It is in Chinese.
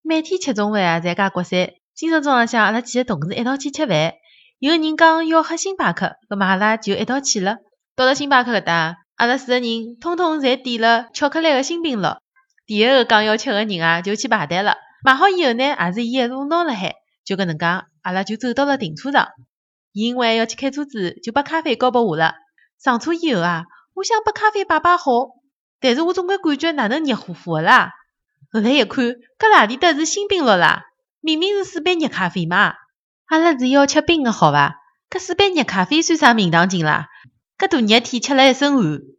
每天吃中饭啊，侪介国三。今朝早浪向阿拉几个同事一道去吃饭，有个人讲要喝星巴克，葛末阿拉就一道去了。到了星巴克搿搭，阿拉4个人通通侪点了巧克力个星冰乐。第一个讲要吃个人啊，就去排队了。买好以后呢，也是伊一路拿辣海，就搿能介，阿拉就走到了停车场。伊因为要去开车子，就把咖啡交拨我了。上车以后啊，我想把咖啡摆好，但是我总归感觉哪能热乎乎个啦。后来一看，搿哪里搭是星冰乐啦？明明是4杯热咖啡嘛。阿拉是要吃冰个好伐？搿4杯热咖啡算啥名堂劲啦？搿大热天吃了一身汗。